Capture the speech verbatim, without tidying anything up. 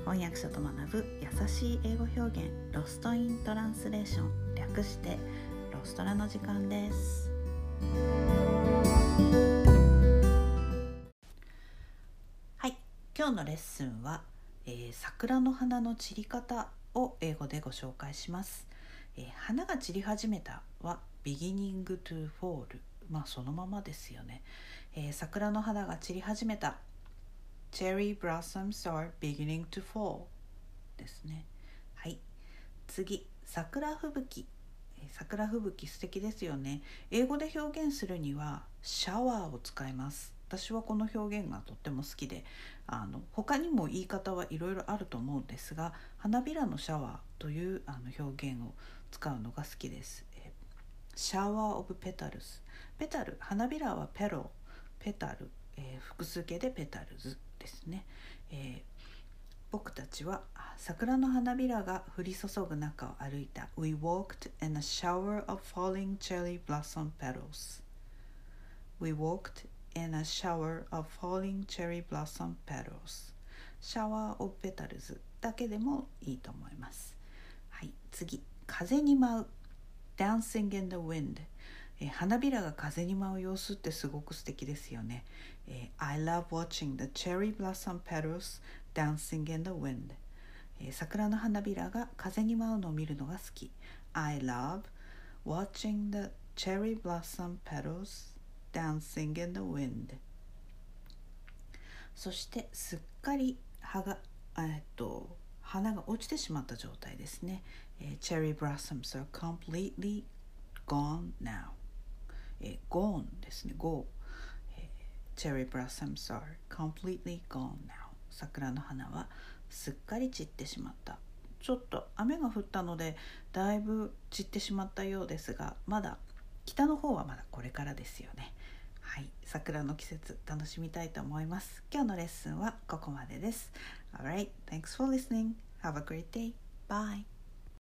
翻訳者と学ぶ優しい英語表現、ロストイントランスレーション、略してロストラの時間です。はい、今日のレッスンは、えー、桜の花の散り方を英語でご紹介します。えー、花が散り始めたは beginning to fall、 まあそのままですよね。えー、桜の花が散り始めたCherry blossoms are beginning to fall ですね。はい。次、桜吹雪。桜吹雪素敵ですよね。英語で表現するにはシャワーを使います。私はこの表現がとっても好きで、あの他にも言い方はいろいろあると思うんですが、花びらのシャワーというあの表現を使うのが好きです。シャワーオブペタルス。ペタル、花びらはペロ、ペタル、えー、複数形でペタルズですね。えー、僕たちは桜の花びらが降り注ぐ中を歩いた。 We walked in a shower of falling cherry blossom petals. We walked in a shower of falling cherry blossom petals. シャワーオブペタルズだけでもいいと思います。はい、次、風に舞う。Dancing in the wind。えー、花びらが風に舞う様子ってすごく素敵ですよね。えー、I love watching the cherry blossom petals dancing in the wind。えー、桜の花びらが風に舞うのを見るのが好き。I love watching the cherry blossom petals dancing in the wind。そしてすっかり葉が、えっと、花が落ちてしまった状態ですね。えー、Cherry blossoms are completely gone now。えー、gone ですね。go、えー、Cherry blossoms are completely gone now。桜の花はすっかり散ってしまった。ちょっと雨が降ったのでだいぶ散ってしまったようですが、まだ北の方はまだこれからですよね。はい、桜の季節楽しみたいと思います。今日のレッスンはここまでです。Alright, thanks for listening. Have a great day. Bye.